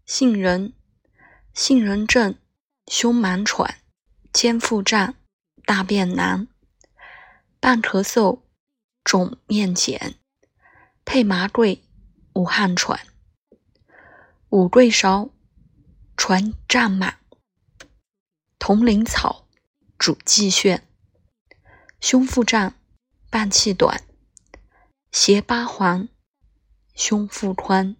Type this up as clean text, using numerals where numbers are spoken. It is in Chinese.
杏仁，杏仁症，胸满喘，肩腹胀，大便难，伴咳嗽，肿面碱，配麻桂，无汗喘。五桂芍，传胀满，铜铃草，主气血，胸腹胀，伴气短，胁八黄，胸腹宽。